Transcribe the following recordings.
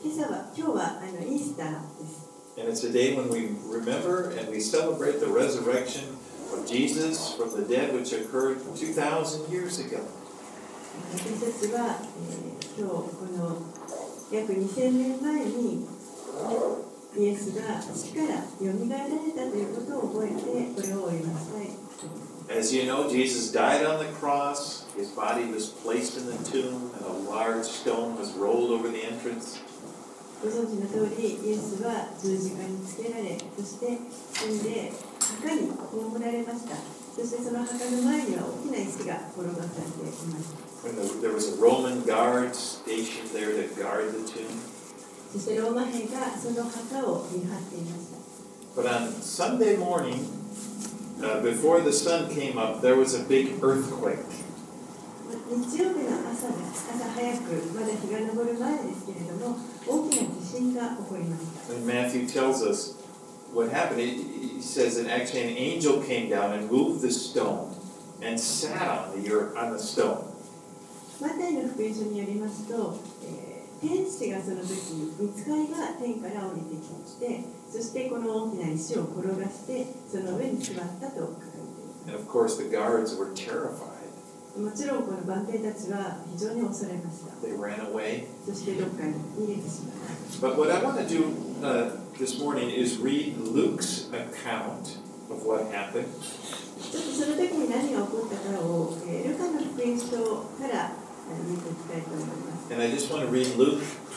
今日はイースターです。 And it's a day when we remember and we celebrate the resurrection of Jesus from the dead, which occurred 2,000 years ago. 私たちは、今日この約2000年前にイエスが死からよみがえられたということを覚えてこれをお祈りしたい。 As you know, Jesus died on the cross. His body was placed in the tomb, and a large stone was rolled over the entrance. ご存知の通り、イエスは十字架につけられ、そして死んで墓に葬られました。そしてその墓の前には大きな石が転がされていました。 There was a Roman guard stationed there to guard the tomb. そしてローマ兵がその墓を見張っていました。 But on Sunday morning, before the sun came up, there was a big earthquake. 日曜日の朝です。朝早く、まだ日が昇る前ですけれども、大きな地震が起こりました。 And Matthew tells us what happened. He says that actually an angel came down and moved the stone and sat on the stone. マタイの福音書によりますと、天使がその時、御使いが天から降りてきて、そしてこの大きな石を転がして、その上に座ったと書かれています。 And of course the guards were terrified. もちろんこの番兵たちは非常に恐れました。 They ran away. そしてどっかに逃げてしまいました。 But what I want to do this morning is read Luke's account of what happened. ちょっとその時に何が起こったかを、ルカの福音書から見ていきたいと思います。 And I just want to read Luke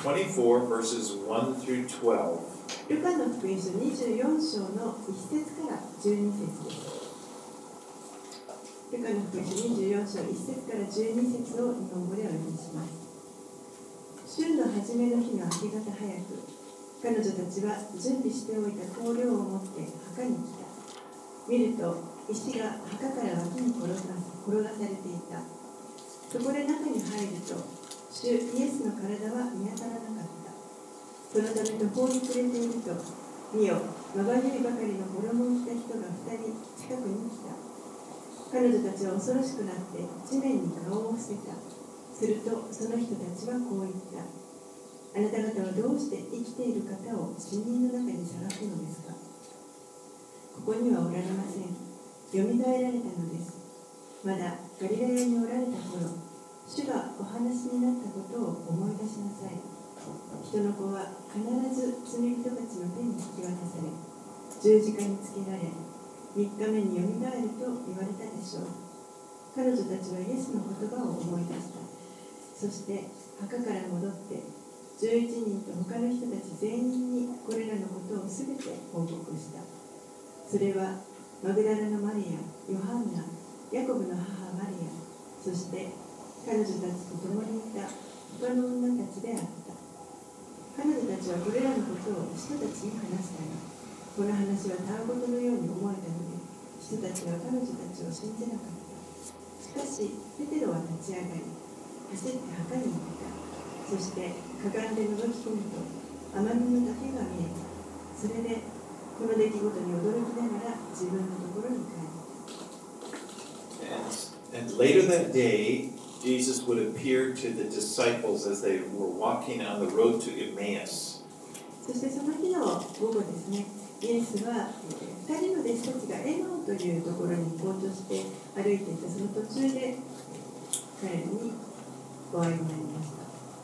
24 verses 1 through 12. ルカの福音書24章の1節から12節です。ルカの福音書24章1節から12節を日本語でお読みします。週の初めの日の明け方早く、彼女たちは準備しておいた香料を持って墓に来た。見ると石が墓から脇に転がされていた。そこで中に入ると、主イエスの体は見当たらなかった。そのため途方に暮れていると、見よ、まばゆいばかりの衣を着た人が2人近くに来た。彼女たちは恐ろしくなって地面に顔を伏せた。するとその人たちはこう言った。あなた方はどうして生きている方を死人の中にさらすのですか。ここにはおられません。よみがえられたのです。まだガリラヤにおられた頃、主がお話になったことを思い出しなさい。人の子は必ず罪人たちの手に引き渡され、十字架につけられ、3日目によみがえると言われたでしょう。彼女たちはイエスの言葉を思い出した。そして墓から戻って11人と他の人たち全員にこれらのことをすべて報告した。それはマグダラのマリア、ヨハンナ、ヤコブの母マリア、そして彼女たちと共にいた他の女たちであった。彼女たちはこれらのことを人たちに話したが、この話はたわごとのように思えたので、人たちは彼女たちを信じなかった。しかし、ペテロは立ち上がり、走って墓に行った。そしてかがんで覗き込むと、雨雲の竹が見えた。それで、この出来事に驚きながら自分のところに帰った。 And later that day, Jesus would appear to the disciples as they were walking on the road to Emmaus. そしてその日の午後ですね、イエスは2人の弟子たちがエマオというところに行こうとして歩いていたその途中で彼らにお会いになりました。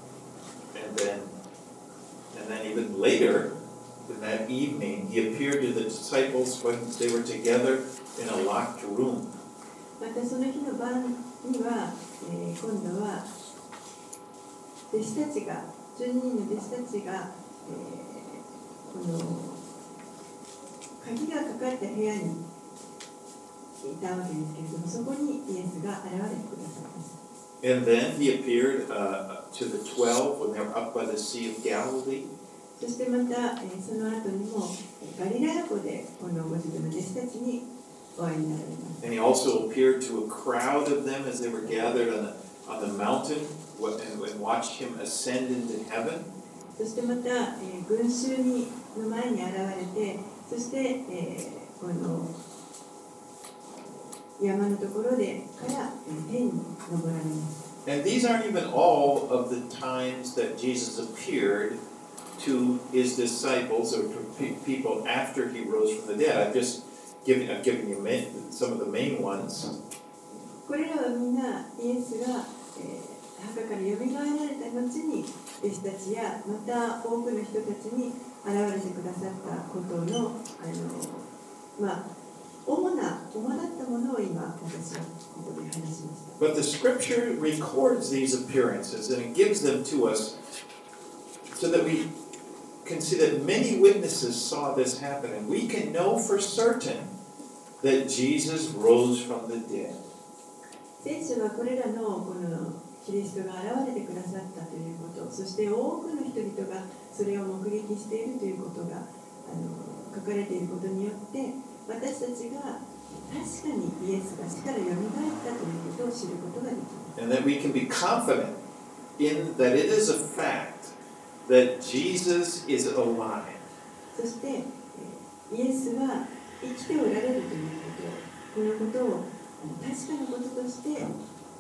And then even later, in that evening, he appeared to the disciples when they were together in a locked room. またその日の晩には、今度は弟子たちが12人の弟子たちが、この鍵がかかった部屋にいたわけですけれども、そこにイエスが現れてくださいました。 And then he appeared to the 12 when they were up by the Sea of Galilee. そしてまた、その後にもガリラヤ湖でこのご自分の弟子たちにお会いになられます。 And he also appeared to a crowd of them as they were gathered on the mountain and watched him ascend into heaven. そしてまた、群衆の前に現れて、そして、この山のところでから天に昇られます。 And these aren't even all of the times that Jesus appeared to his disciples or to people after he rose from the dead. I've given you some of the main ones. これらはみんなイエスが、墓からよみがえられた後に弟子たちやまた多くの人たちに現れてくださったことの、主だったものを今私はここで話しました。 But the scripture records these appearances and it gives them to us so that we can see that many witnesses saw this happen and we can know for certain that Jesus rose from the dead. 聖書はこれらのこのキリストが現れてくださったということ、そして多くの人々がそれを目撃しているということが書かれていることによって私たちが確かにイエスが死からよみがえったということを知ることができます。 And that we can be confident in that it is a fact that Jesus is alive. そしてイエスは生きておられるということ、このことを確かなこととして確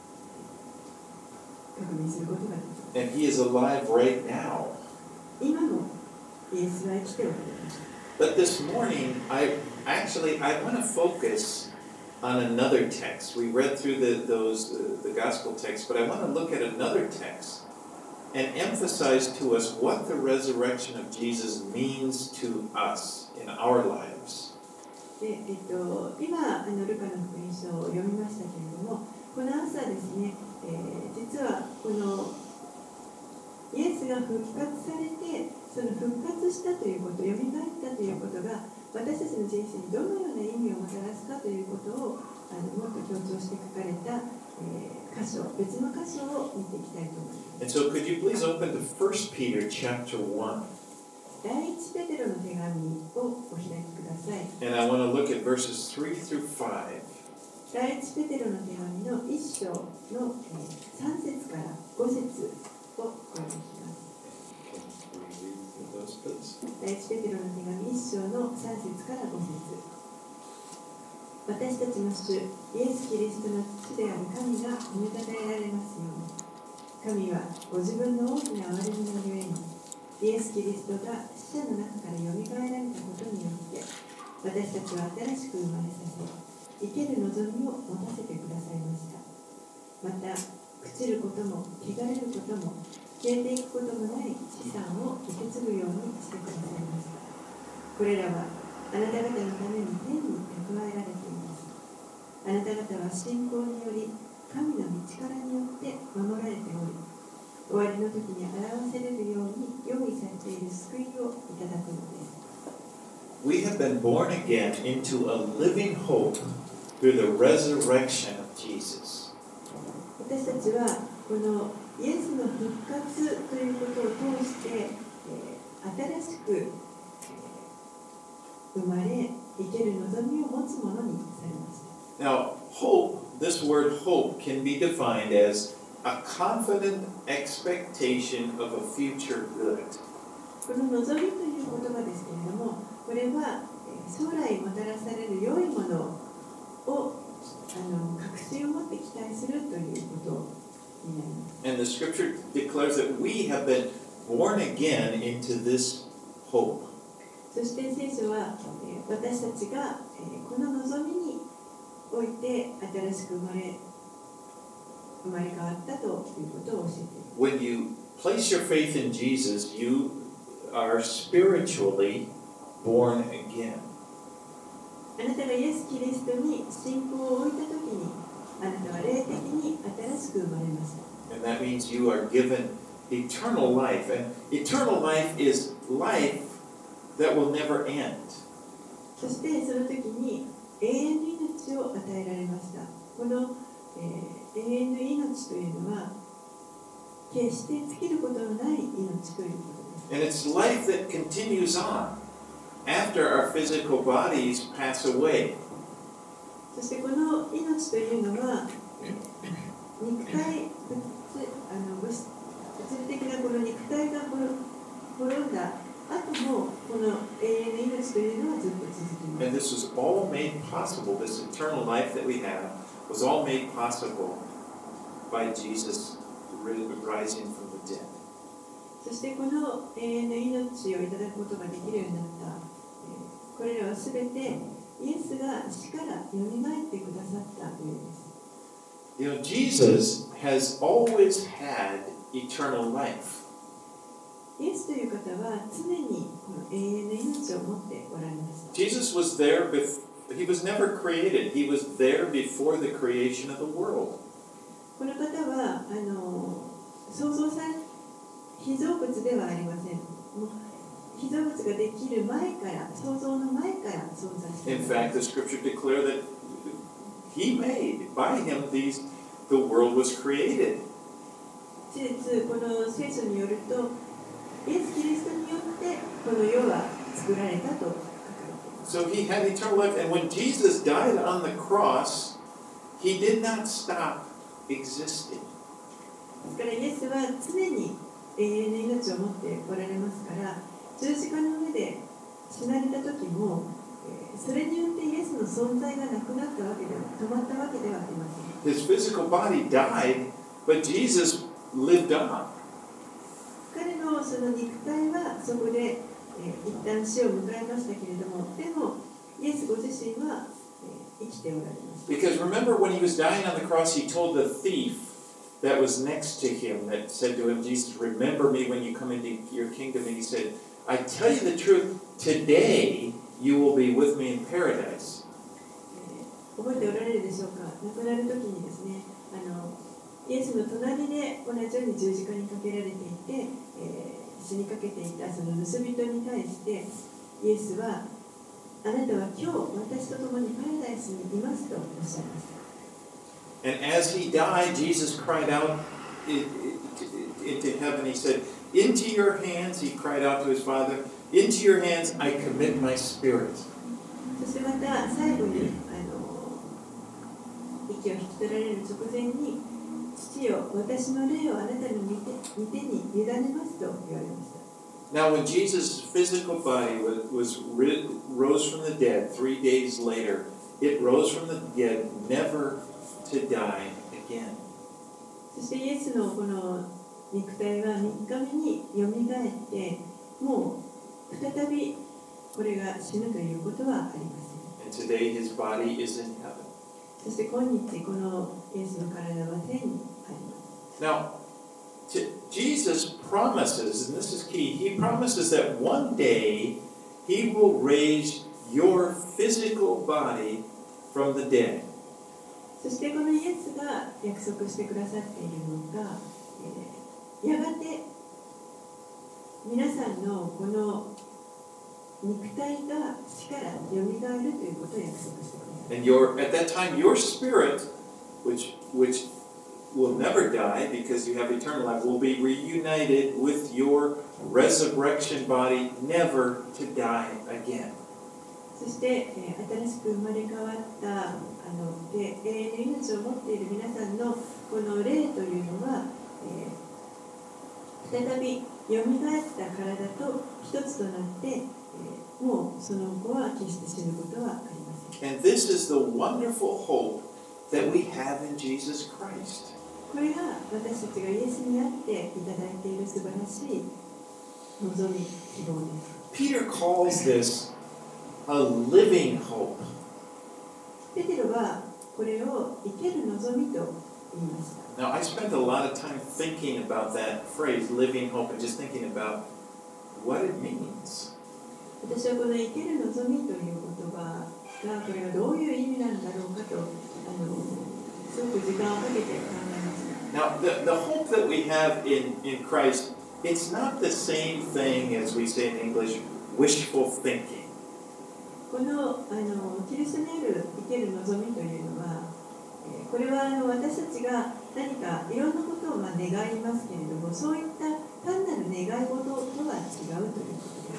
認することができます。 And he is alive right now. 今もイエスは生きておられます。 But this morning, I want to focus on another text. We read through the gospel text, but I want to look at another text and emphasize to us what the resurrection of Jesus means to us in our lives. で今ルカの福音書を読みましたけれども、この朝ですね、実はこのイエスが復活されて、その復活したということ、よみがえったということが私たちの人生にどのような意味をもたらすかということをもっと強調して書かれた、箇所、別の箇所を見ていきたいと思います。 And so could you please open to 1 Peter chapter 1. 第一ペテロの手紙をお開きください。 And I want to look at verses 3 through 5. 第一ペテロの手紙の1章の3節から5節をお読みします。第一ペテロの手紙1章の3節から5節。私たちの主イエス・キリストの父である神が褒めたたえられますように。神はご自分の大きな憐れみのゆえにイエス・キリストが死者の中からよみがえられたことによって私たちは新しく生まれさせ生ける望みを持たせてくださいました。また朽ちることも汚れることも消えていくこともない資産を受け継ぐようにしてくださいました。これらはあなた方のために天に蓄えられています。あなた方は信仰により神の御力によって守られており、終わりの時に表せれるように用意されている救いをいただくのです。 We have been born again into a living hope through the resurrection of Jesus. 私たちはこのイエスの復活ということを通して、新しく、生まれ生ける望みを持つものにされました。 Now, hope, this word hope can be defined as a confident expectation of a future good. この望みという言葉ですけれども、これは将来もたらされる良いものを確信を持って期待するということになります。 And the scripture declares that we have been born again into this hope. そして聖書は私たちがこの望みにおいて新しく生まれ変わったということを教えています。 When you place your faith in Jesus, you are spiritually born again. あなたがイエス・キリストに信仰を置いたときに、あなたは霊的に新しく生まれました。 And that means you are given eternal life. And eternal life is life that will never end. そしてその時に永遠の命を与えられました。この、永遠の命というのは決して尽きることのない命ということです。 And it's life that continues on after our physical bodies pass away. そしてこの命というのは肉体物理的なこの肉体が滅んだ後もこの永遠の命というのはずっと続きます。 And this was all made possible, this eternal life that we have was all made possible by Jesus rising from the dead. そしてこの永遠の命をいただくことができるようになった、これらはすべてイエスが死からよみがえってくださったゆえです。 You know, Jesus has always had eternal life. イエスという方は常にこの永遠の命を持っておられました。 Jesus was there he was never created. He was there before the creation of the world. この方は創造され被造物ではありません。もう被造物ができる前から、創造の前から存在しています。 In fact, the scripture declares that he made, by him, the world was created. 事実、この聖書によると、イエス・キリストによってこの世は作られたと書かれています。 So he had eternal life, and when Jesus died on the cross, he did not stop existing. ですからイエスは常に永遠の命を持っておられますから、十字架の上で死なれた時も、それによってイエスの存在がなくなったわけでは、止まったわけではありません。 His physical body died, but Jesus lived on. 彼のその肉体はそこで、一旦死を迎えましたけれども、でもイエスご自身は、生きておられます。 Because remember when he was dying on the cross, he told the thief that was next to him, that said to him, Jesus, remember me when you come into your kingdom. And he said, I tell you the truth, today you will be with me in paradise. 覚えておられるでしょうか。亡くなる時にですね、イエスの隣で同じように十字架にかけられていて、死にかけていたその盗人に対してイエスは、あなたは今日私と共にパラダイスにいますとおっしゃいました。 And as he died, Jesus cried out into heaven. He said, into your hands, he cried out to his Father, into your hands I commit my spirit. そしてまた最後に息を引き取られる直前に、父よ、私の霊をあなたの御手に委ねますと言われました。 Now, when Jesus' physical body rose from the dead 3 days later, it rose from the dead never to die again. そしてイエスのこの肉体は3日目によみがえって、もう再びこれが死ぬということはありません。 And today his body is in heaven. そして今日このイエスの体は天にあります。 Now, Jesus promises, and this is key, he promises that one day he will raise your physical body from the dead. そしてこのイエスが約束してくださっているのが、やがて皆さんのこの肉体が死からよみがえるということを約束してください。 And at that time, your spirit, which will never die because you have eternal life, will be reunited with your resurrection body, never to die again. そして、新しく生まれ変わった永遠の命を持っている皆さんのこの霊というのは、再びよみがえった体と一つとなって、もうその後は決して死ぬことはありません。 And this is the wonderful hope that we have in Jesus Christ. これが私たちがイエスにあっていただいている素晴らしい望み、希望です。 Peter calls this a living hope. ペテロはこれを生ける望みと言いました。 Now, I spent a lot of time thinking about that phrase, living hope, and just thinking about what it means. 私はこの生ける望みという言葉がこれがどういう意味なんだろうかとすごく時間をかけて考えました。 Now, the hope that we have in Christ, it's not the same thing as we say in English, wishful thinking. このキリストにある生ける望みというのは、これは私たちが何かいろんなことを願いますけれども、そういった単なる願い事とは違うということです。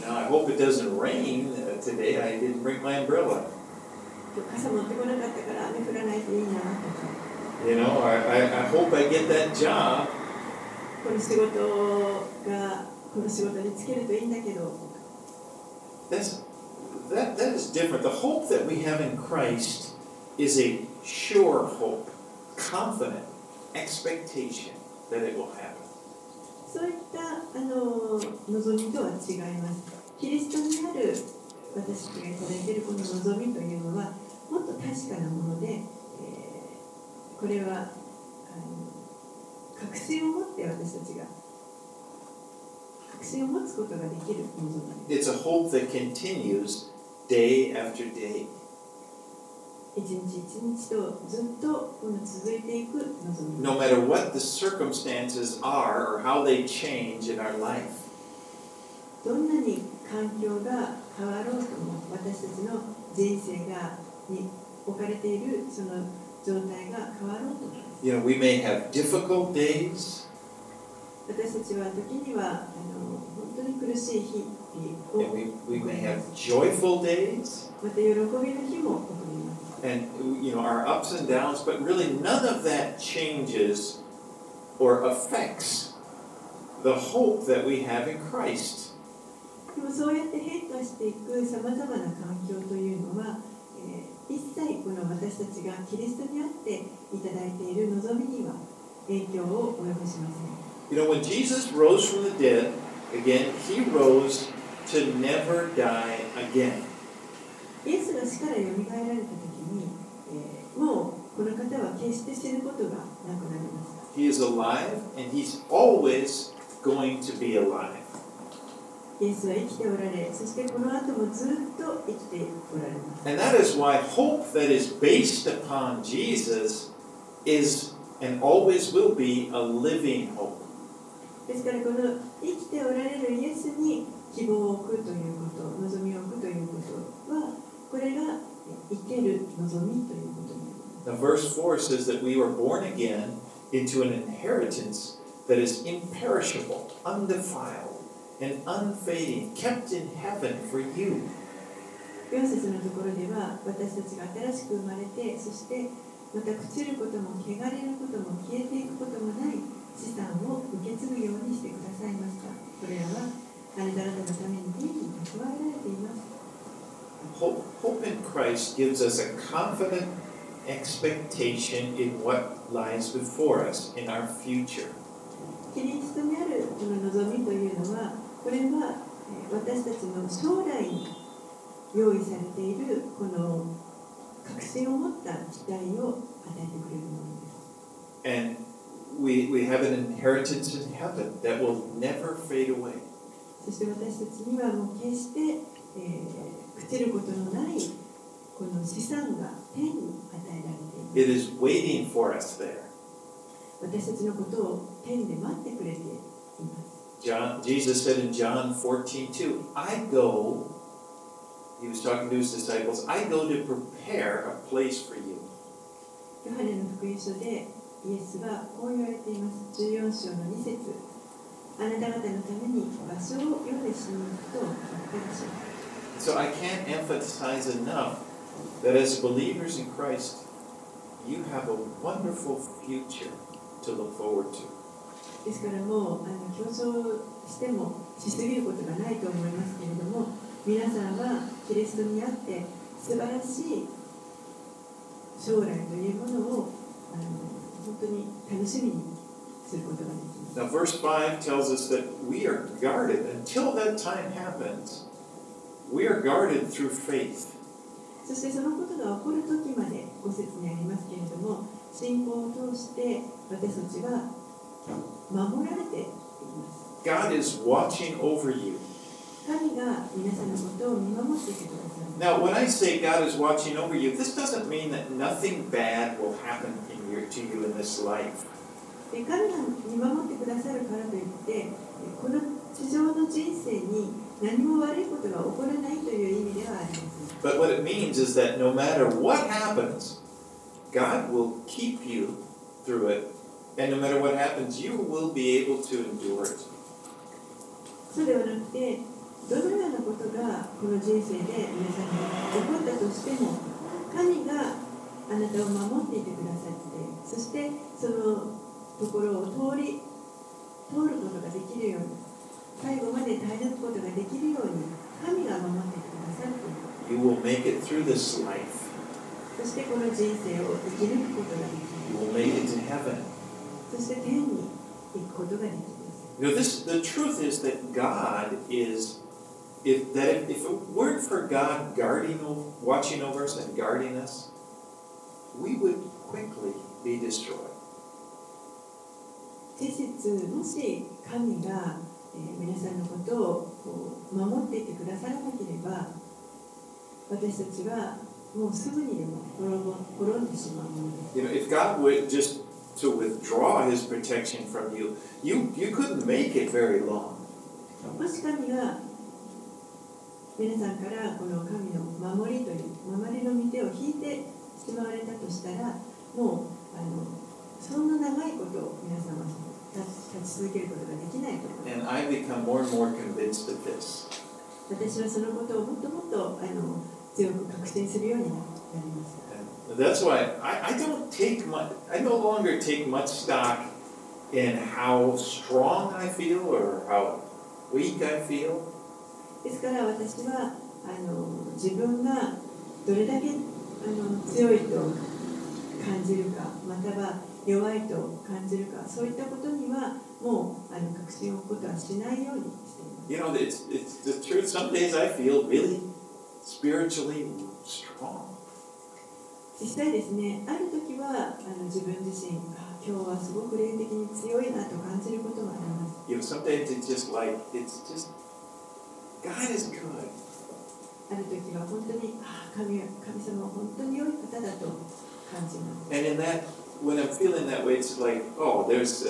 Now, I hope it doesn't rain today. I didn't bring my umbrella. 今日傘持ってこなかったから雨降らないといいなとか。 You know, I hope I get that job. この仕事に就けるといいんだけど。 That is different. The hope that we have in Christ is a sure hope, confident expectation that it will happen. そういった望みとは違います。キリストにある私たちがいただいているこの望みというのはもっと確かなもので、これは確信を持って私たちが確信を持つことができる望みです。 It's a hope that continues day after day. 一日一日とずっと続いていく望み。 No matter what the circumstances are or how they change in our life. どんなに環境が変わろうとも私たちの人生に置かれているその状態が変わろうとも。 You know, we may have difficult days. 私たちは時には本当に苦しい日を And we may have joyful days. また喜びの日も送ります。 And you know, our ups and downs, but really none of that changes or affects the hope that we have in Christ. でもそうやって変化していくさまざまな環境というのは、一切この私たちがキリストにあっていただいている望みには影響を及ぼしません。 You know, when Jesus rose from the dead, again, he rose to never die again. イエスが死からよみがえられたときに、もうこの方は決して死ぬことがなくなりました。 He is alive, and he's always going to be alive. イエスは生きておられ、そしてこの後もずっと生きておられます。 And that is why hope that is based upon Jesus is and always will be a living hope. ですからこの生きておられるイエスに希望を置くということ、望みを置くということは、これが生ける望みということになります。 Now, verse 4 says that we were born again into an inheritance that is imperishable, undefiled, and unfading, kept in heaven for you. 4節のところでは、私たちが新しく生まれて、そしてまた朽ちることも汚れることも消えていくこともない資産を受け継ぐようにしてくださいました。これらはあなた方のために天に蓄えられています。 Hope in Christ gives us a confident expectation in what lies before us in our future. キリストにあるこの望みというのは、これは私たちの将来に用意されているこの確信を持った期待を与えてくれるものです。 And we have an inheritance in heaven that will never fade away. そして私たちにはもう決して、朽ちることのないこの資産が天に与えられています。 It is waiting for us there. 私たちのことを天で待ってくれています。 Jesus said in John 14:2, I go, he was talking to his disciples, I go to prepare a place for you. ヨハネの福音書でイエスはこう言われています。14章の2節、あなた方のために場所を用意しに行くと言ってらっしゃいます。 So I can't emphasize enough that as believers in Christ, you have a wonderful future to look forward to. ですからもう強調してもしすぎることがないと思いますけれども、皆さんはキリストにあって素晴らしい将来というものを本当に楽しみにすることができます。 Now verse 5 tells us that we are guarded until that time happens. We are guarded through faith. そしてそのことが起こる時まで5節にありますけれども、信仰を通して私たちは守られています。 God is watching over you. 神が皆さんのことを見守っていてください。 Now, when I say God is watching over you, this doesn't mean that nothing bad will happen to you in this life. 神が見守ってくださるからといって、この地上の人生に何も悪いことが起こらないという意味ではありません。 But what it means is that no matter what happens, God will keep you through it. And no matter what happens, you will be able to endure it. そうではなくて、どのようなことがこの人生で皆さんに起こったとしても、神があなたを守っていてくださって、そしてそのところを通ることができるように、最後まで耐え抜くことができるように、神が守っていてくださるという。 You will make it through this life. そしてこの人生を生き抜くことができる。 You will make it to heaven. そして天に行くことができます。 You know, the truth is that God is, if it weren't for God watching over us and guarding us, we would quickly be destroyed. 事実、もし神が、皆さんのことをこう守っていてくださらなければ、私たちはもうすぐにでも滅んでしまうものです。 You know, if God would just to withdraw His protection from you, you couldn't make it very long. もし神が皆さんからこの神の守りという守りの御手を引いてしまわれたとしたら、もうそんな長いことを皆さんは立ち続けることができないと思います。 And I become more and more convinced of this. 私はそのことをもっともっと強く確信するようになりました。 And that's why I no longer take much stock in how strong I feel or how weak I feel. ですから私は自分がどれだけ強いと感じるか、または弱いと感じるか、そういったことにはもう確信を置くことはしないようにしています。 You know, it's the truth. Some days I feel really spiritually strong. 実際ですね、ある時は自分自身、今日はすごく霊的に強いなと感じることもあります。 You know, some days it's just God is good. ある時は本当に神様は本当に良い方だと感じます。 And in that, when I'm feeling that way, it's like, oh, there's,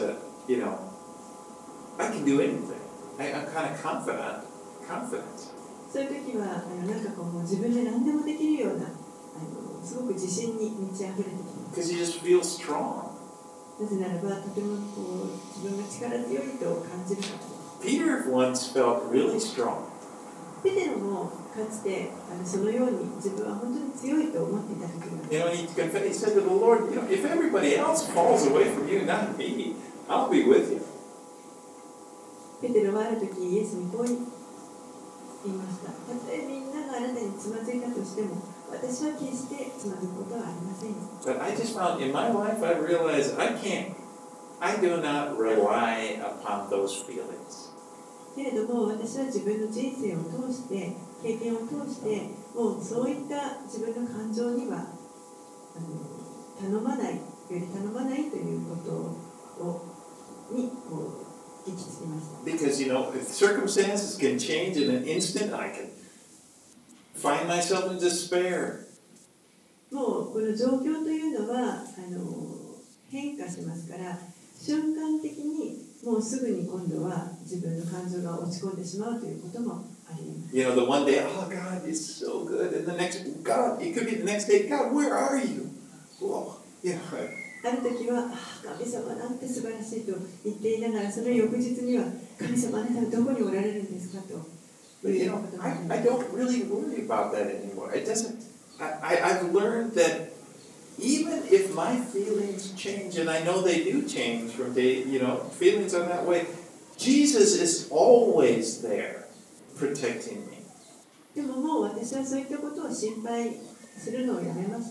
I can do anything. I'm kind of confident. そういう時はなんかこうもう自分で何でもできるようなすごく自信に満ち溢れてきます。 Because you just feel strong. なぜならばとてもこう自分が力強いと感じるからです。 Peter once felt really strong. ペテロもかつてそのように自分は本当に強いと思っていた時があります。 You know, he said to the Lord, if everybody else falls away from you, not me, I'll be with you. ペテロはある時イエスにこう言いました。たとえみんながあなたにつまずいたとしても、私は決してつまずくことはありませんよ。 But I just found in my life, I realized I do not rely upon those feelings. けれども私は自分の人生を通して経験を通してもうそういった自分の感情には頼まないということにこう行き着きました。 Because if circumstances can change in an instant, I can find myself in despair. もうこの状況というのは変化しますから瞬間的にもうすぐに今度は自分の感情が落ち込んでしまうということもあります。 The one day, oh God, it's so good, and the next, God, it could be the next day, God, where are you? Whoa, ある時は神様なんて素晴らしいと言っていながらその翌日には神様あなたはどこにおられるんですかと。 But I don't really worry about that anymore. It doesn't. I've learned that even if my feelings change, and I know they do change from day, feelings are that way, Jesus is always there protecting me. でももう私はそういったことを心配するのをやめました。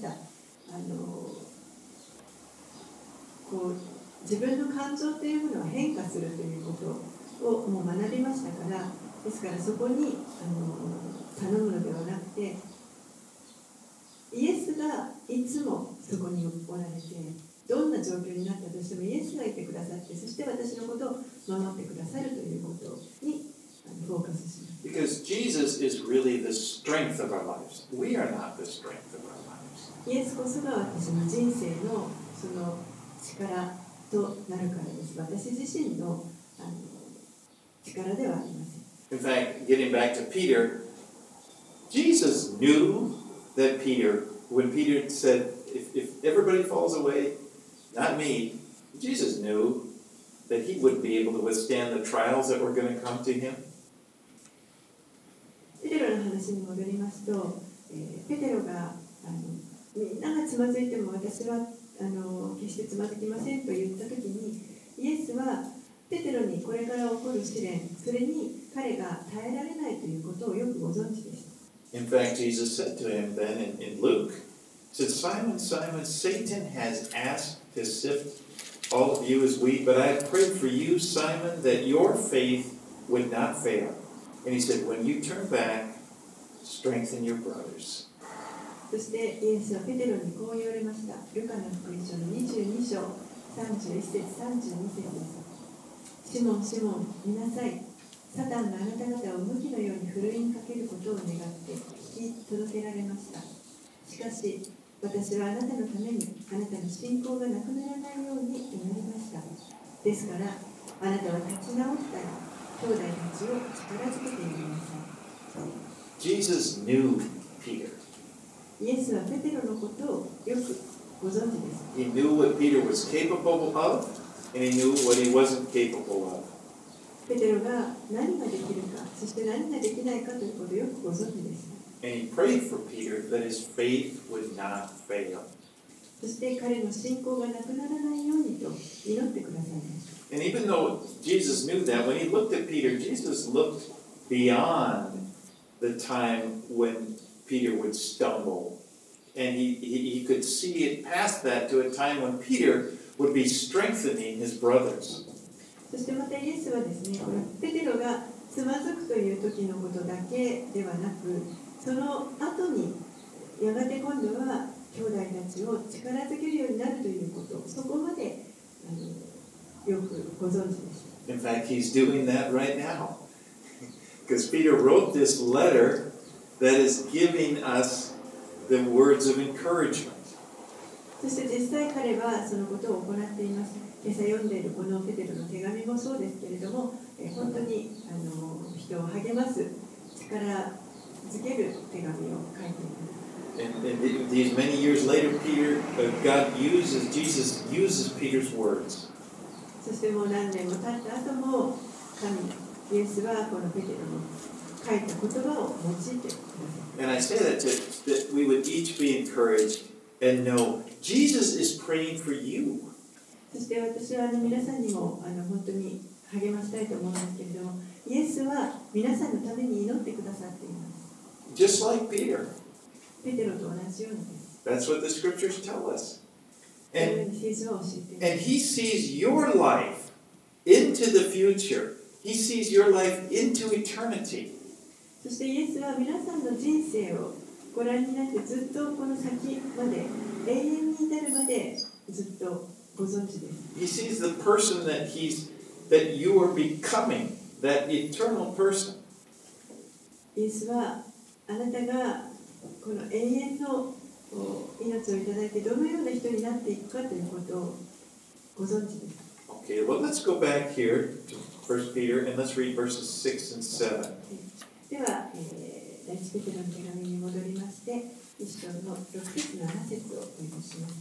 こう自分の感情というものは変化するということをもう学びましたから、ですからそこに頼むのではなくて、イエスがいつもそこにおられて、どんな状況になったとしてもイエスがいてくださって、そして私のことを守ってくださるということにフォーカスします。 Because Jesus is really the strength of our lives. We are not the strength of our lives. イエスこそが私の人生のその力となるからです。私自身の力ではありません。 In fact, getting back to Peter, Jesus knew that when Peter said, if everybody falls away, not me, Jesus knew that he wouldn't be able to withstand the trials that were going to come to him. ペテロの話に戻りますと、ペテロがみんながつまずいても私は決してつまずきませんと言ったときに、イエスはペテロにこれから起こる試練、それに彼が耐えられないということをよくご存知でした。 In fact, Jesus said to him then in Luke, he said, Simon, Simon, Satan has asked to sift all of you as we, but I have prayed for you, Simon, that your faith would not fail. And he said, when you turn back, strengthen your brothers. そしてイエスはペテロにこう言われました。ルカの福音書の22章31節32節です。シモン、シモン、見なさい。サタンがあなた方を無気のようにふるいにかけることを願って聞き届けられました。しかし、私はあなたのためにあなたの信仰がなくならないように祈りました。ですから、あなたは立ち直ったら、兄弟たちを力づけてやりなさい。 Jesus knew Peter. イエスはペテロのことをよくご存知です。 He knew what Peter was capable of, and he knew what he wasn't capable of. ペテロが何ができるか、そして何ができないかということをよくご存知です。 And he prayed for Peter that his faith would not fail. そして彼の信仰がなくならないようにと祈ってくださいました。 And even though Jesus knew that, when he looked at Peter, Jesus looked beyond the time when Peter would stumble. And he could see it past that to a time when Peter would be strengthening his brothers. そしてまたイエスはですね、このペテロがつまずくという時のことだけではなく、その後にやがて今度は兄弟たちを力づけるようになるということ、そこまでよくご存知でした。 In fact, he's doing that right now. Because Peter wrote this letter that is giving us the words of encouragement. そして実際彼はそのことを行っています。今朝読んでいるこのペテロの手紙もそうですけれども、本当に人を励ます力づける手紙を書いています。 And these many years later, Jesus uses Peter's words. そしてもう何年も経った後もイエスはこのペテロの書いた言葉を用いてください。 And I say that that we would each be encouraged and know Jesus is praying for you. そして私は皆さんにも本当に励ましたいと思うんですけれども、イエスは皆さんのために祈ってくださっています。 Just like Peter. ペテロと同じようにです。 That's what the scriptures tell us. このように聖書は教えています。 And he sees your life into the future. He sees your life into eternity. そしてイエスは皆さんの人生をご覧になってずっとこの先まで永遠に至るまでずっとご存知です。 He sees the person that you are becoming, that eternal person. イエスはあなたがこの永遠の命をいただいてどのような人になっていくかということをご存知です。 Okay, well, let's go back here to 1 Peter and let's read verses 6 and 7. では、第一ペテロの手紙に戻りまして、一章の6節7節をお読みします。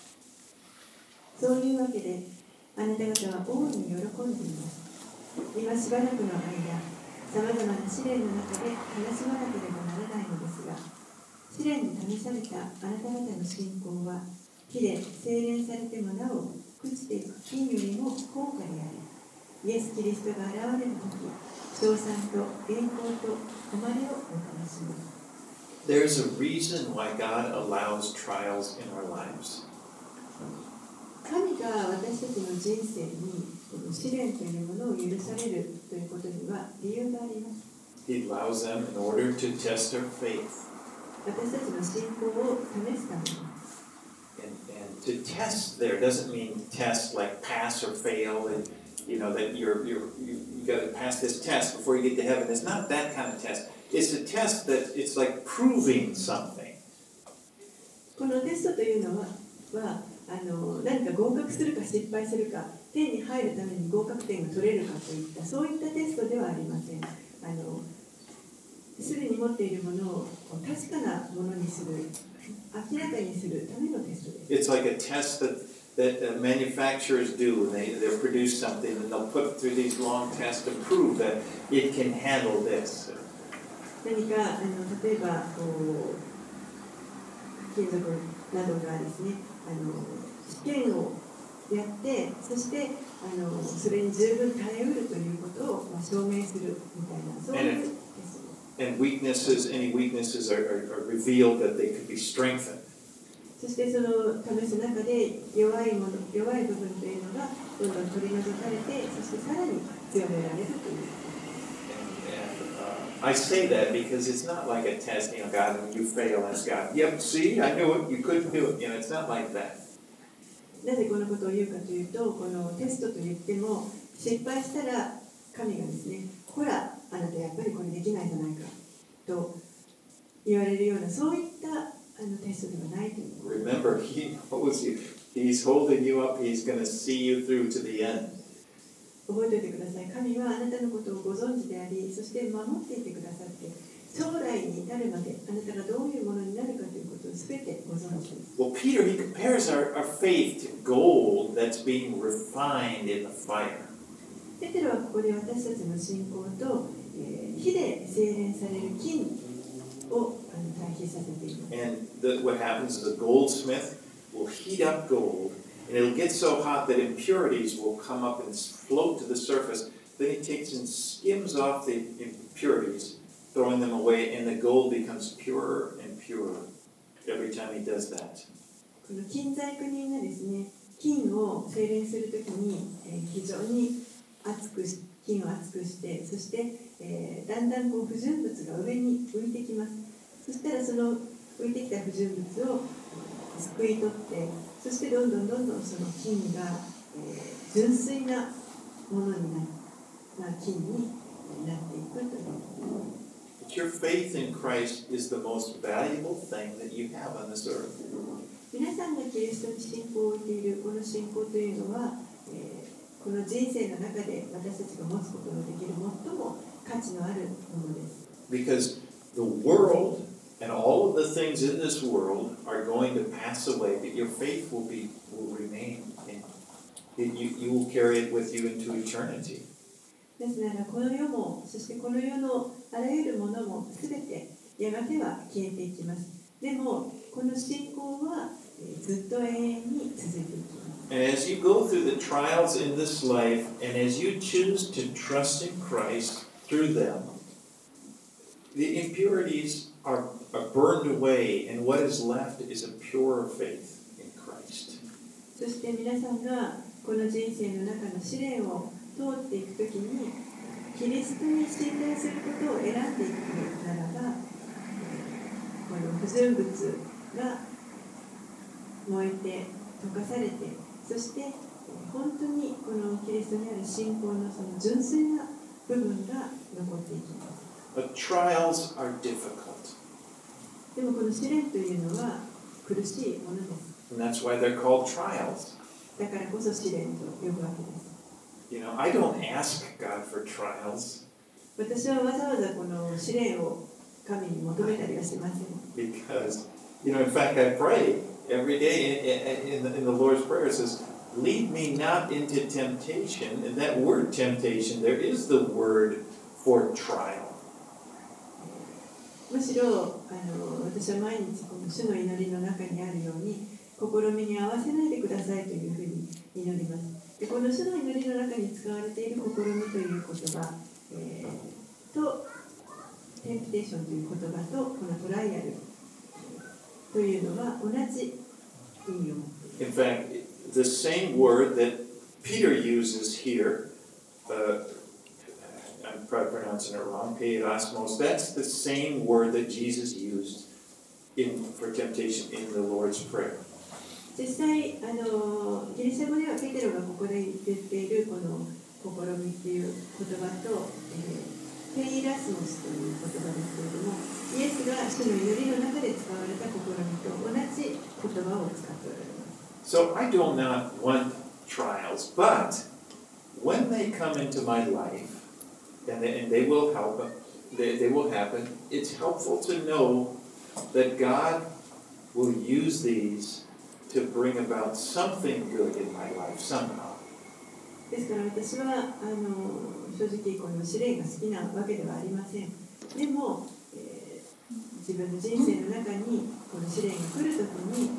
そういうわけで、あなた方は大いに喜んでいます。今しばらくの間、さまざまな試練の中で悲しまなければならないのですが、試練に試されたあなた方の信仰は、火で精錬されてもなお朽ちていく金よりも高価であり、イエス・キリストが現れるとき、称賛と栄光と誉れをもたらします。 There's a reason why God allows trials in our lives. 神が私たちの人生にこの試練というものを許されるということには理由があります。 He allows them in order to test our faith. 私たちの信仰を試すために。 And to test there doesn't mean test like pass or fail, and you know that you got to pass this test before you get to heaven. It's not that kind of test. It's a test that it's like proving something. このテストというのは何か合格するか失敗するか、天に入るために合格点が取れるかといったそういったテストではありません。すでに持っているものを確かなものにする、明らかにするためのテストです。 It's like a test that manufacturers do. They produce something and they'll put it through these long tests to prove that it can handle this. 何か例えば金属などがですね、試験をやって、そしてそれに十分耐えうるということを証明するみたいな、そういうテストです。 And any weaknesses are revealed that they could be strengthened. そしてその試す中で弱い部分というのがどんどん取り除かれて、そしてさらに強められるという。 I say that because it's not like a test, God, when you fail, ask God, yep, see, I knew it, you couldn't do it. It's not like that. なぜこのことを言うかというと、このテストといっても、失敗したら神がですね、ほら、あなたやっぱりこれできないじゃないかと言われるような、そういったテストではないという。 Remember, He knows you. He's holding you up. He's going to see you through to the end. 覚えておいてください。神はあなたのことをご存知であり、そして守っていてくださって、将来に至るまであなたがどういうものになるかということをすべてご存知です。 Well, Peter, he compares our faith to gold that's being refined in the fire. ペテロはここで私たちの信仰と、火で精錬される金を対比させています。 And what happens is a goldsmith will heat up gold, and it'll get so hot that impurities will come up and float to the surface. Then he takes and skims off the impurities, throwing them away, and the gold becomes purer and purer every time he does that. この金細工人がですね、金を精錬するときに、非常に金を熱くして、そして、だんだん不純物が上に浮いてきます。そしたらその浮いてきた不純物をすくい取って、そしてどんどんその金が、純粋なものに金になっていくという。 But your faith in Christ is the most valuable thing that you have on this earth. 皆さんがキリストに信仰を置いているこの信仰というのは、この人生の中で私たちが持つことのできる最も価値のあるものです。 Because the world and all of the things in this world are going to pass away, but your faith will remain. You will carry it with you into eternity. ですならこの世も、そしてこの世のあらゆるものもすべてやがては消えていきます。でもこの信仰はずっと永遠に続いていきます。 And as you go through the trials in this life, and as you choose to trust in Christ through them, the impurities are burned away, and what is left is a pure faith in Christ. そして皆さんがこの人生の中の試練を通っていくときに、キリストに信頼することを選んでいくならば、この不純物が燃えて溶かされて、そして本当にこのキリストにある信仰のその純粋な部分が残っていきます。 But trials are difficult. でもこの試練というのは苦しいものです。 And that's why they're called trials. だからこそ試練と呼ぶわけです。 I don't ask God for trials. 私はわざわざこの試練を神に求めたりはしません。 Because, in fact, I pray every day in the Lord's Prayer. It says, lead me not into temptation. And that word temptation, there is the word for trial. むしろ私は毎日この主の祈りの中にあるように、試みに合わせないでくださいというふうに祈ります。でこの主の祈りの中に使われている試みという言葉、とテンプテーションという言葉とこのトライアルというのは同じ意味を持っている。 In fact, the same word that Peter uses here, I'm probably pronouncing it wrong, peirasmos, that's the same word that Jesus used for temptation in the Lord's Prayer. 実際ギリシャ語ではペテロがここで言っているこの試みという言葉と、ペイラスモスという言葉ですけれども、イエスが主の祈りの中で使われた試みと同じ言葉を使っておられます。 So I do not want trials, but when they come into my life, and they will help, they will happen, it's helpful to know that God will use these to bring about something good in my life somehow. ですから私は正直この試練が好きなわけではありません。でも、自分の人生の中にこの試練が来るときに、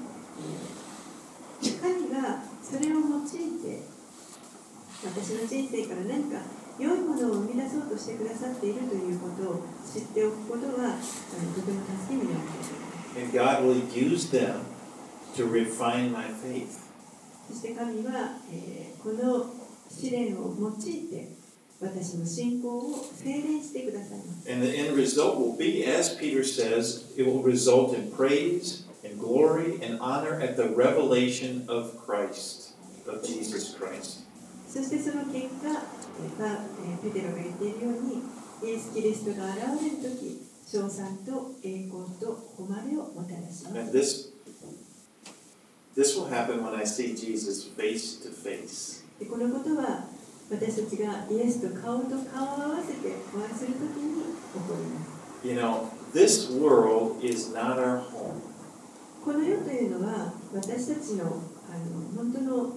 神がそれを用いて私の人生から何か良いものを生み出そうとしてくださっているということを知っておくことはとても助けになっています。 And God will use them to refine my faith. そして神は、この試練を用いて私の信仰を精錬してくださいます。 And the end result will be, as Peter says, it will result in praise and glory and honor at the revelation of Christ, of Jesus Christ. そしてその結果、ペテロが言っているように、イエス・キリストが現れるとき、称賛と栄光と誉れをもたらしま And す。 this will happen when I see Jesus face to face. でこのことは私たちがイエスと顔と顔を合わせてお会いするときに起こります。 You know, this world is not our home. この世というのは私たちの本当の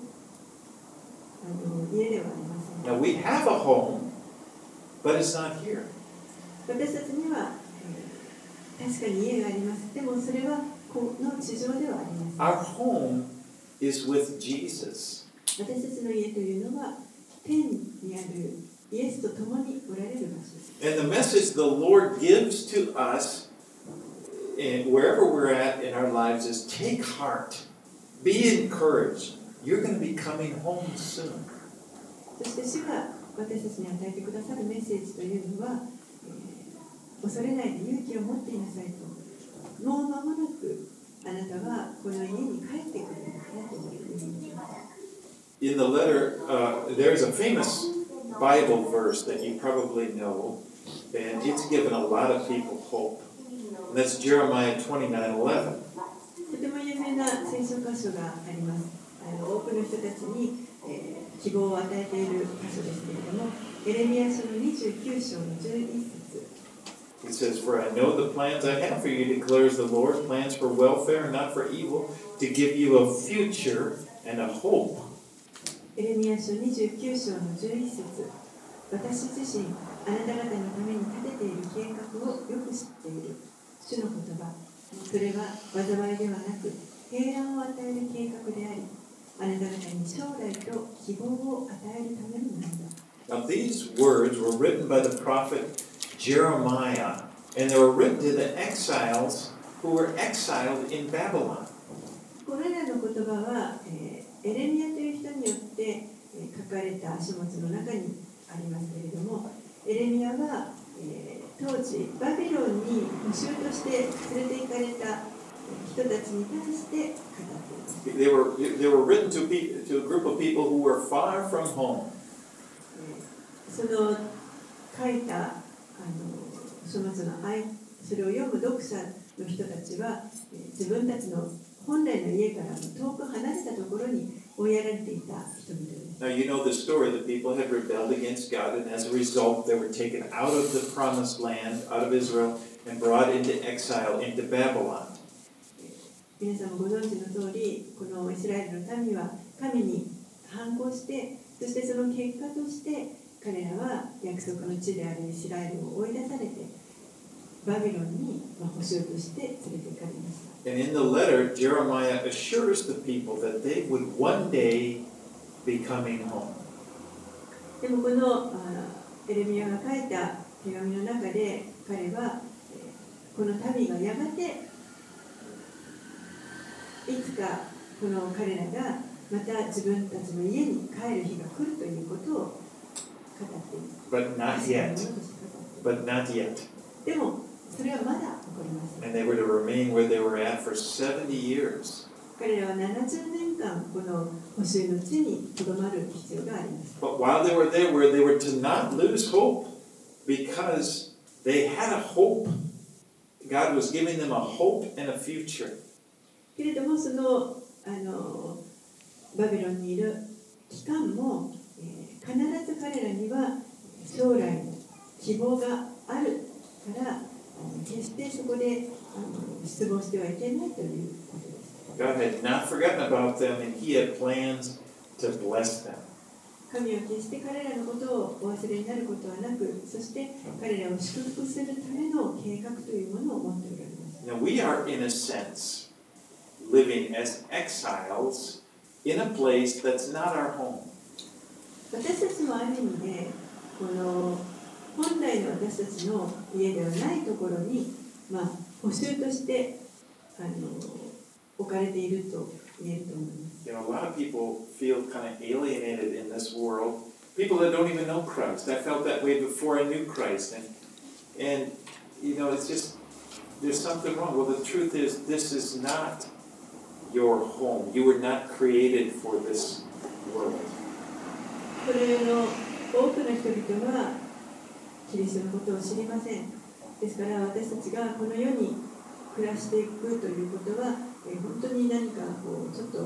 家ではありません。 Now we have a home, but it's not here. 私たちには、確かに家があります。でもそれはこの地上ではありません。 Our home is with Jesus. 私たちの家というのは天にあるイエスと共におられる場所です。 And the message the Lord gives to us, wherever we're at in our lives, is take heart, be encouraged. You're going to be coming home soon. そして主が私たちに与えてくださるメッセージというのは、恐れないで勇気を持っていなさいと。もう間もなくあなたはこの家に帰ってくるんだというふうに言います。 In the letter, there's a famous Bible verse that you probably know, and it's given a lot of people hope. And that's Jeremiah 29:11. とても有名な聖書箇所があります。多くの人たちに、希望を与えている箇所ですけれども、エレミヤ書の29章の11節。 It says, For I know the plans I have for you, declares the Lord, plans for welfare and not for evil, to give you a future and a hope. エレミヤ書29章の11節。私自身、あなた方のために立てている計画をよく知っている。主の言葉。それは災いではなく、平安を与える計画であり、あなた方に将来と希望を与えるためのものだ。 Now, these words were written by the prophet Jeremiah, and they were written to the exiles who were exiled in Babylon. これらの言葉は、エレミヤという人によって、書かれた書物の中にありますけれども、エレミヤは、当時バビロンに捕囚として連れて行かれた人たちに対して語っています。 They were written to a group of people who were far from home. その書いた書物のそれを読む読者の人たちは、自分たちの本来の家から遠く離れたところに追いやられていた人々です。 Now you know the story. The people had rebelled against God, and as a result, they were taken out of the promised land, out of Israel, and brought into exile into Babylon. 皆さんもご存知の通り、このイスラエルの民は神に反抗して、そしてその結果として彼らは約束の地であるイスラエルを追い出されて、バビロンに捕囚として連れて行かれました。 And in the letter, Jeremiah assures the people that they would one day be coming home. でもこのエレミヤが書いた手紙の中で彼はこの民がやがていつかこの彼らがまた自分たちの家に帰る日が来るということを語っています。 But not yet. But not yet. でもそれはまだ起こりません。 And they were to remain where they were at for 70 years. 彼らは70年間この捕囚の地にとどまる必要があります。 But while they were there, they were to not lose hope because they had a hope. God was giving them a hope and a future. けれどもそのバビロンにいる期間も、必ず彼らには将来の希望があるから決してそこで失望してはいけないということです。 God had not forgotten about them, and He had plans to bless them. 神は決して彼らのことをお忘れになることはなく、そして彼らを祝福するための計画というものを持っておられます。 Now we are, in a sense, living as exiles in a place that's not our home. 私たちもある意味でこの本来の私たちの家ではないところに、捕囚として追置かれていると言えると思います。 You know, a lot of people feel kind of alienated in this world. People that don't even know Christ. I felt that way before I knew Christ. And you know, it's just, there's something wrong. Well, the truth is, this is not your home. You were not created for this world. これの多くの人々はキリストのことを知りません。ですから私たちがこの世に暮らしていくということは、本当に何かこうちょっと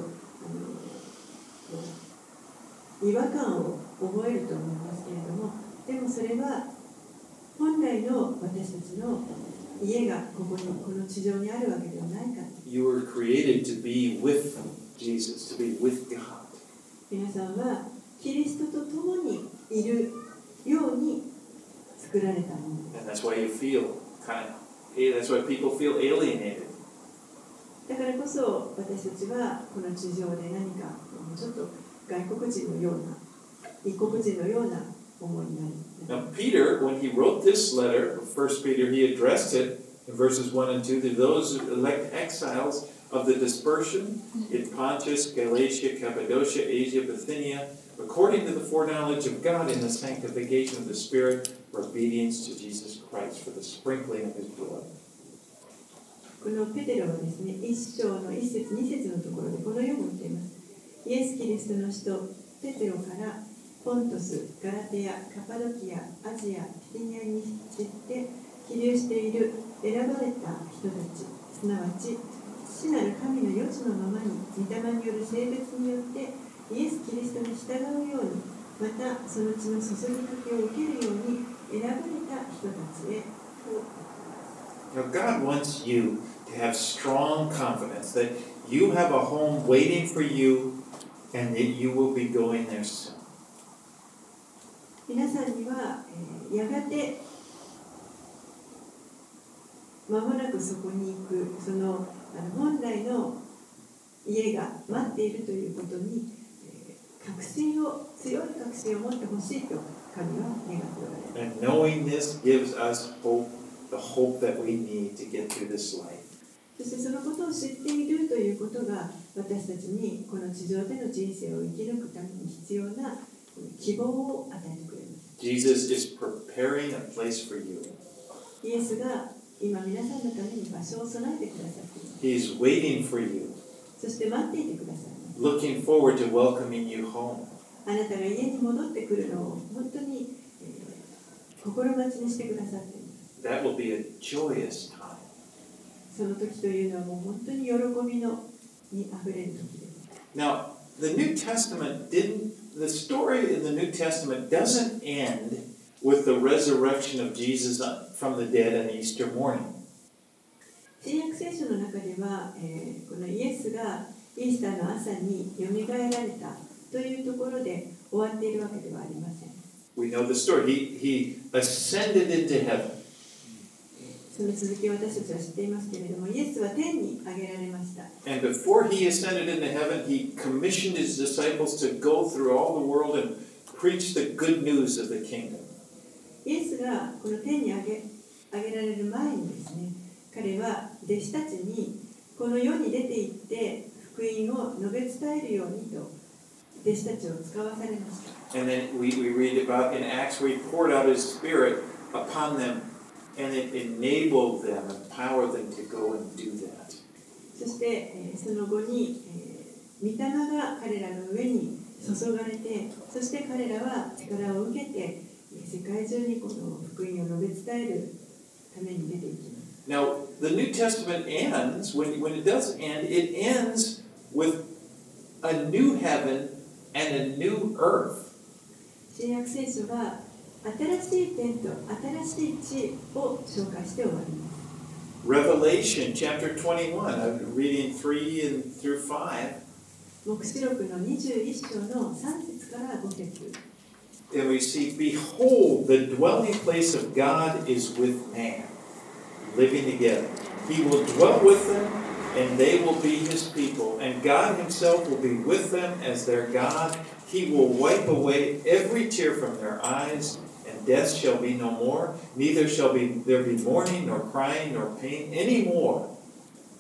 違和感を覚えると思いますけれども、でもそれは本来の私たちの家がこの地上にあるわけではないか。 You were created to be with Jesus, to be with God. 皆さんはキリストと共にいるように作られたものです。 And that's why you feel that's why people feel alienated. だからこそ私たちはこの地上で何かちょっと外国人のような異国人のような思いになる。 Now Peter, when he wrote this letter, 1 Peter, he addressed it in verses 1 and 2 to those elect exiles of the dispersion in Pontus, Galatia, Cappadocia, Asia, Bithynia, according to the foreknowledge of God in the sanctification of the Spirit, for obedience to Jesus Christ, for the sprinkling of His blood. このペテロはですね、1章の1節2節のところでこのように言っています。イエス・キリストの使徒ペテロからポントス、ガラテヤ、カパドキア、アジア、ピティニアに散って起立している選ばれた人たち、すなわち父なる神の余地のままに御霊による性別によってイエス・キリストに従うように、またその血の注ぎかけを受けるように選ばれた人たちへ。 Now God wants you to have strong confidence that you have a home waiting for you and that you will be going there soon. 皆さんには、やがて間もなくそこに行くその本来の家が待っているということに、強い確信を持ってほしいと神は願っておられます。 And knowing this gives us hope, the hope that we need to get through this life. そしてそのことを知っているということが私たちにこの地上での人生を生き抜くために必要な希望を与えてくれます。 Jesus is preparing a place for you. イエスが今皆さんのために場所を備えてくださっています。 He is waiting for you. そして待っていてくださいます。 Looking forward to welcoming you home. あなたが家に戻ってくるのを本当に、心待ちにしてくださっています。 That will be a joyous time. その時というのはもう本当に喜びのにあふれる時です。 Now, the story in the New Testament doesn't end with the resurrection of Jesus from the dead on Easter morning. 新約聖書の中では、このイエスがイースターの朝によみがえられたというところで終わっているわけではありません。 We know the story. He ascended into heaven. その続きを私たちは知っていますけれども、イエスは天に上げられました。 And before he ascended into heaven, he commissioned his disciples to go through all the world and preach the good news of the kingdom. イエスがこの天に上げられる前にですね、彼は弟子たちにこの世に出て行って福音を述べ伝えるようにと弟子たちを使わされました。 And then we read about in Acts where he poured out his Spirit upon them, and it enabled them, empowered them to go and do that. そして、その後に、御霊が彼らの上に注がれて、そして彼らは力を受けて世界中にこの福音を述べ伝えるために出ていきます。 Now, the New Testament ends, when it does end, it ends with a new heaven and a new earth. 新約聖書は新しい天と新しい地を紹介して終わります。 Revelation chapter 21, I'm reading 3 and through 5. 黙示録の21章の3節から5節。 And we see, behold, the dwelling place of God is with man, living together. He will dwell with them, and they will be his people. And God himself will be with them as their God. He will wipe away every tear from their eyes, and death shall be no more. Neither shall there be mourning, nor crying, nor pain any more.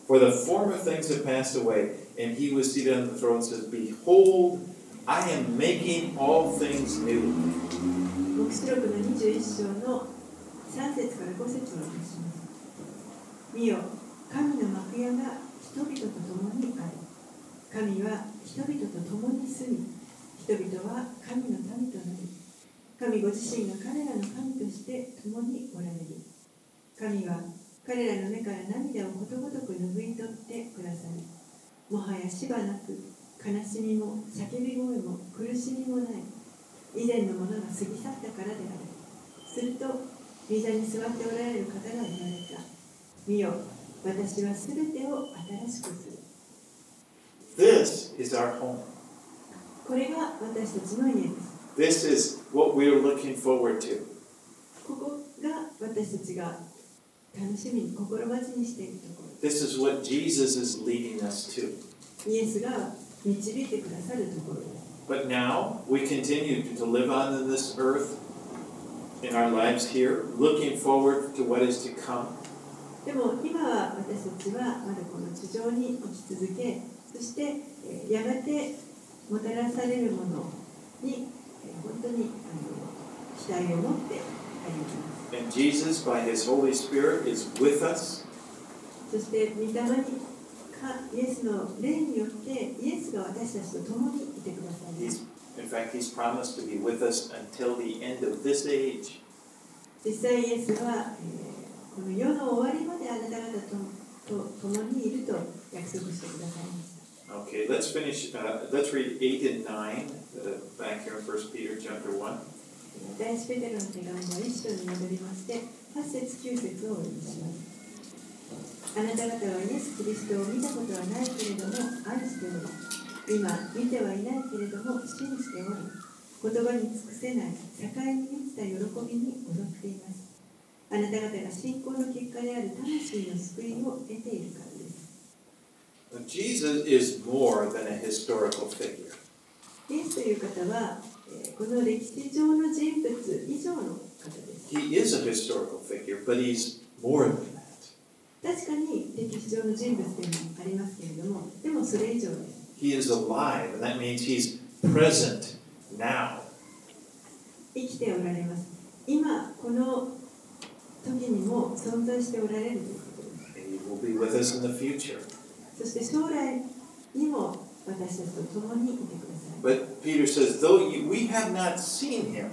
For the former things have passed away, and he was seated on the throne and says, Behold, I am making all things new. 黙示録の21章の3節から5節をお読みします。見よ、神の幕屋が人々と共にある。神は人々と共に住み、人々は神の民となり、神ご自身が彼らの神として共におられる。神は彼らの目から涙をことごとく拭い取ってくださり、もはやしばなく悲しみも叫び声も苦しみもない。以前のものが過ぎ去ったからである。すると、御座に座っておられる方が言われた。見よ、私はすべてを新しくする。 This is our home. これが私たちの家です。 This is what we are looking forward to. ここが私たちが楽しみに心待ちにしているところ。 This is what Jesus is leading us to. イエスが導いてくださるところです。 But now we continue to live on in this earth, in our lives here, looking forward to what is to come. でも今は私たちはまだこの地上に生き続け、そしてやがてもたらされるものに本当に期待を持って歩きます。 And Jesus, by His Holy Spirit, is with us. そして御霊にイエスの霊によってイエスが私たちと共にいてくださいます。 In fact, He's promised to be with us until the end of this age. 実際イエスは、この世の終わりまであなた方と共にいると約束してくださいました。 Okay, let's finish. Let's read 8 and 9 back here in 1 Peter chapter 1. 第一ペテロの手紙の1章に戻りまして、8節9節をお読みします。あなた方はイエス・キリストを見たことはないけれども愛しており、今見てはいないけれども信じており、言葉に尽くせない境に満ちた喜びに踊っています。あなた方が信仰の結果である魂の救いを得ているからです。 Jesus is more than a historical figure. イエスという方は、この歴史上の人物以上の方です。 He is a historical figure, but he's more than that. 確かに歴史上の人物でもありますけれども、でもそれ以上です。 He is alive, and that means he's present now. 生きておられます。今この時にも存在しておられるということです。 And he will be with us in the future. そして将来にも私たちと共にいてください。 But Peter says, though we have not seen him,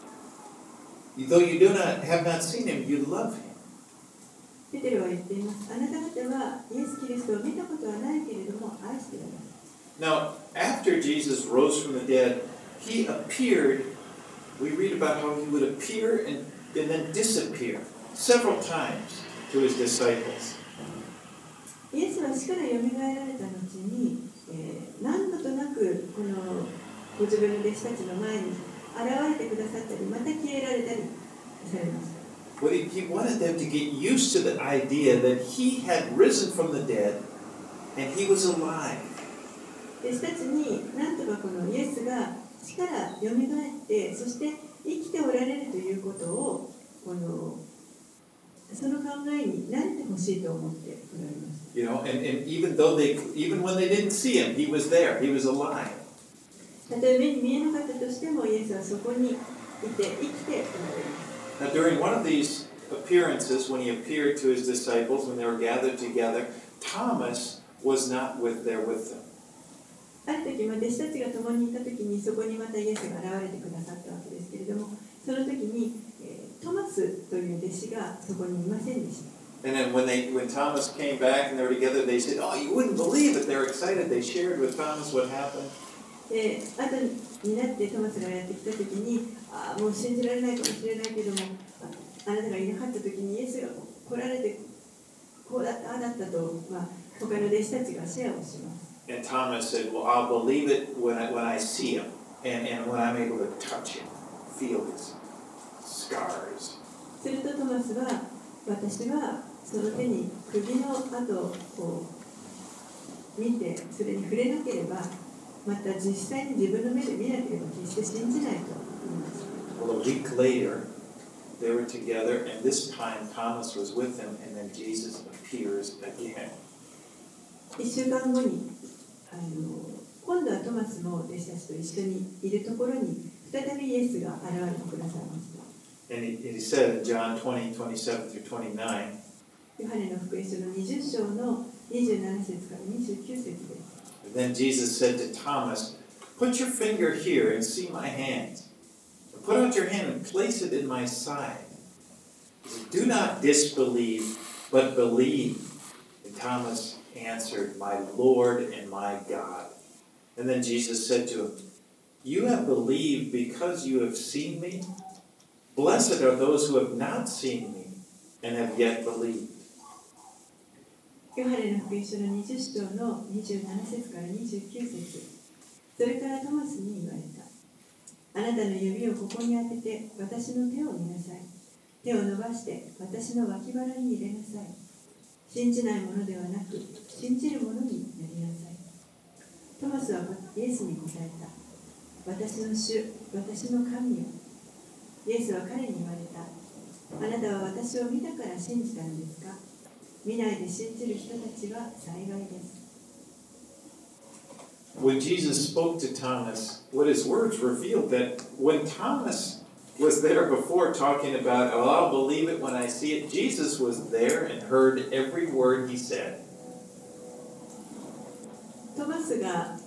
though you have not seen him, you love him. ペテロは言っています。あなた方はイエス・キリストを見たことはないけれども愛しています。 Now, after Jesus rose from the dead, he appeared. We read about how he would appear and then disappear several times to his disciples. イエスは死からよみがえられた後に、何度となくこのご自分の弟子たちの前に現れてくださったり、また消えられたりされました。 But he wanted them to get used to the idea that he had risen from the dead and he was alive. 弟子たちに何とかこのイエスが死からよみがえって、そして生きておられるということをその考えに慣れてほしいと思っておられます。 You know, and even when they didn't see him, he was there. He was alive. たとえ目に見えなかったとしても、イエスはそこにいて生きておられます。 Now, during one of these appearances, when he appeared to his disciples, when they were gathered together, Thomas was not there with them. ある時、弟子たちが共にいた時に、そこにまたイエスが現れてくださったわけですけれども、その時に、トマスという弟子がそこにいませんでした。 And then when Thomas came back and they were together, they said, "Oh, you wouldn't believe it." They were excited. They shared with Thomas what happened. で、後になってトマスがやってきた時に、もう信じられないかもしれないけども、あなたがいなかった時にイエスが来られて、こうだった、ああだったと、他の弟子たちがシェアをします。 And Thomas said, "Well, I'll believe it when I see him, and when I'm able to touch him, feel his scars." するとトマスは、私はその手に釘の跡を見て、それに触れなければ、また実際に自分の目で見なければ決して信じないと言います。 Well, a week later, they were together, and this time Thomas was with them, and then Jesus appears again. 1週間後に今度はトマスも弟子たちと一緒にいるところに再びイエスが現れてくださいました。 And he said in John 20:27 through 29, ヨハネの福音書の20章の27節から29節です。 Then Jesus said to Thomas, Put your finger here and see my hands. Put out your hand and place it in my side. He said, Do not disbelieve, but believe. And Thomas answered, My Lord and my God. And then Jesus said to him, You have believed because you have seen me? Blessed are those who have not seen me and have yet believed. ヨハネの福音書の20章の27節から29節。それからトマスに言われた。あなたの指をここに当てて私の手を見なさい。手を伸ばして私の脇腹に入れなさい。信じないものではなく信じるものになりなさい。トマスはイエスに答えた。私の主、私の神よ。イエスは彼に言われた。あなたは私を見たから信じたのですか？見ないで信じる人たちは幸いです。 When Jesus spoke to Thomas, what his words revealed that when Thomas was there before talking about, oh, I'll believe it when I see it, Jesus was there and heard every word he said. トマスが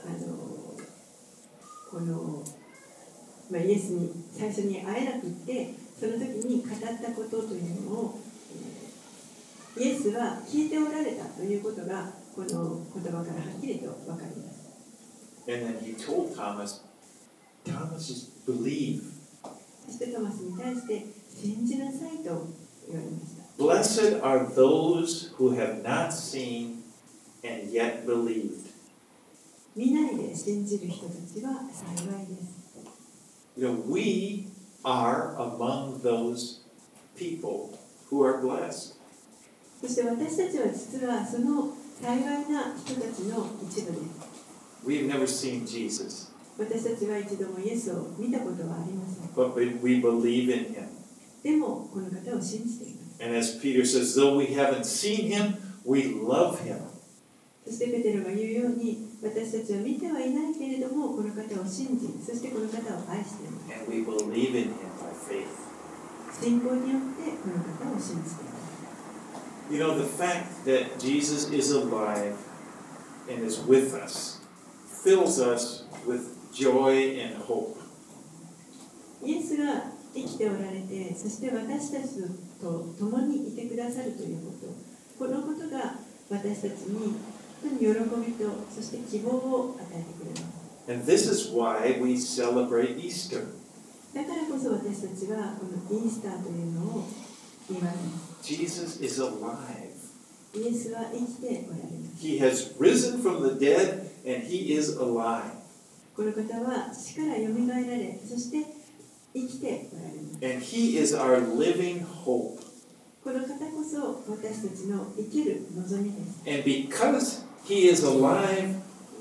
イエスに最初に会えなくってその時に語ったことというのをイエスは聞いておられたということがこの言葉からはっきりと分かります。 And then he told Thomas, Thomas, believe. そしてトマスに対して信じなさいと言われました。 Blessed are those who have not seen and yet believed. 見ないで信じる人たちは幸いです。 You know, we are among those people who are blessed. そして私たちは実はその幸いな人たちの一部です。 We've never seen Jesus. 私たちは一度もイエスを見たことはありません。 But we believe in him. でもこの方を信じています。 And as Peter says, though we haven't seen him, we love him. そしてペテロが言うように、私たちは見てはいないけれども、この方を信じ、そしてこの方を愛しています。 And we believe in him by faith. 信仰によってこの方を信じています。 You know, the fact that Jesus is alive and is with us fills us with joy and hope. イエスが生きておられて、そして私たちと共にいてくださるということ、このことが私たちに本当に喜びと、そして希望を与えてくれます。 And this is why we celebrate Easter. だからこそ私たちはこのイースターというのを祝います。 Jesus is alive. イエスは生きておられます。 He has risen from the dead and he is alive. この方は死からよみがえられ、そして生きておられます。 And he is our living hope. この方こそ私たちの生きる望みです。 And because he is alive,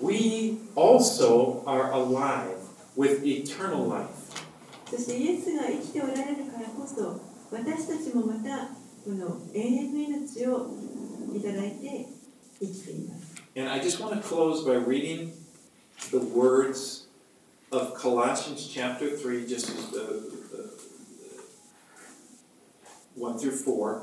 we also are alive with eternal life. そしてイエスが生きておられるからこそ、私たちもまたこの永遠の命をいただいて生きています。 And I just want to close by reading the words of Colossians chapter 3, just 1 through 4.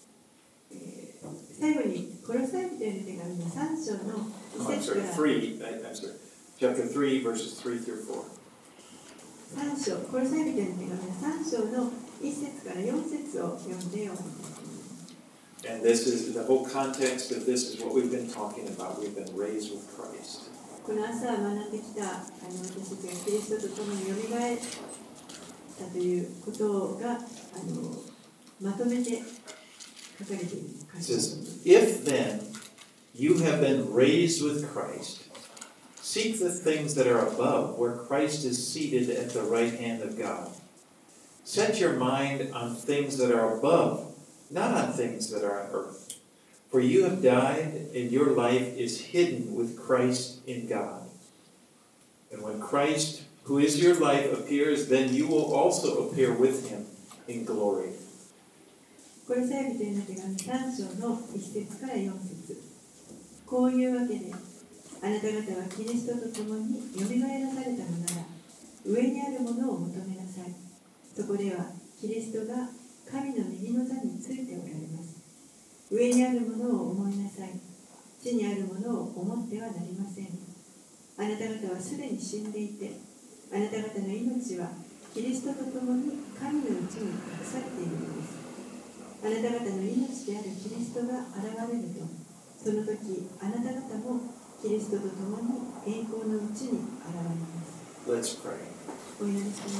最後にコロサイ人への手紙の3章の1節から chapter 3, verses 3 through 4. 3章、コロサイ人への手紙の3章の1節から4節を読んでおります。 And this is the whole context of this is what we've been talking about. We've been raised with Christ. この朝学んできた私たちがキリストと共によみがえったということがまとめて書かれている。 It says, If then you have been raised with Christ, seek the things that are above, where Christ is seated at the right hand of God. Set your mind on things that are above, not on things that are on earth. For you have died, and your life is hidden with Christ in God. And when Christ, who is your life, appears, then you will also appear with him in glory. コロサイ人への手紙3章の1節から4節。 こういうわけで、あなた方はキリストと共によみがえらされたのなら、上にあるものを求めなさい。そこではキリストが神の右の座についておられます。上にあるものを思いなさい。地にあるものを思ってはなりません。あなた方はすでに死んでいて、あなた方の命はキリストと共に神のうちに隠されているのです。あなた方の命であるキリストが現れると、その時あなた方もキリストと共に栄光のうちに現れます。 Let's pray. お祈りします。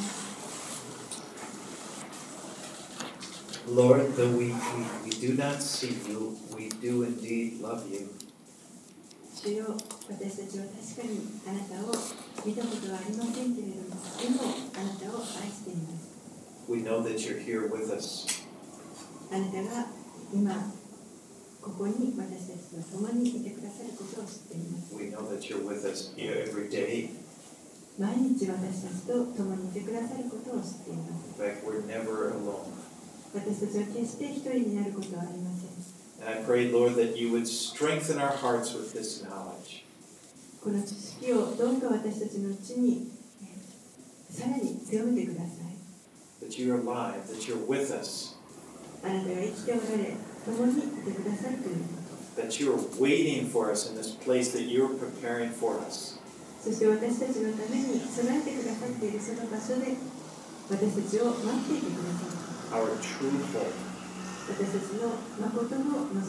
Lord, though we do not see you, we do indeed love you. 主よ、私たちは確かにあなたを見たことはありませんけれども、でもあなたを愛しています。 We know that you're here with us. あなたが今ここに私たちと共にいてくださることを知っています。 We know that you're with us every day. 毎日私たちと共にいてくださることを知っています。 In fact, we're never alone. 私たちは決して一人になることはありません。 And I pray, Lord, that you would strengthen our hearts with this knowledge. この知識をどうか私たちのうちにさらに強めてください。 That you're alive, that you're with us. あなたが生きておられ、共にいてくださるということ。 That you're waiting for us in this place that you're preparing for us. そして私たちのために備えてくださっているその場所で私たちを待っていてくださる。 Our true home. 私たちの誠の望みです。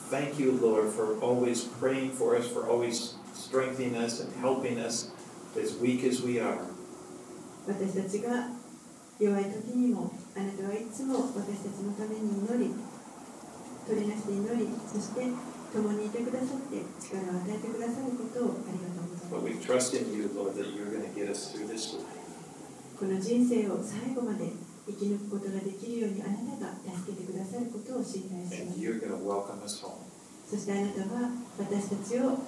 Thank you, Lord, for always praying for us, for always strengthening us and helping us as weak as we are. 私たちが弱い時にもあなたはいつも私たちのために祈り、取りなして祈り、そして共にいてくださって力を与えてくださることをありがとうございます。 But we trust in you, Lord, that you're going to get us through this life. この人生を最後まで生き抜くことができるようにあなたが助けてくださることを信頼しま And す。 you're going to welcome us home. そしてあなたは私たちを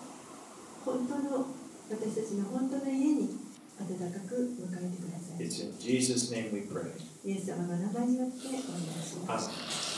私たちの本当の家に温かく迎えてください。 It's in Jesus' name we pray. イエス様の名前によってお願いします。 Amen.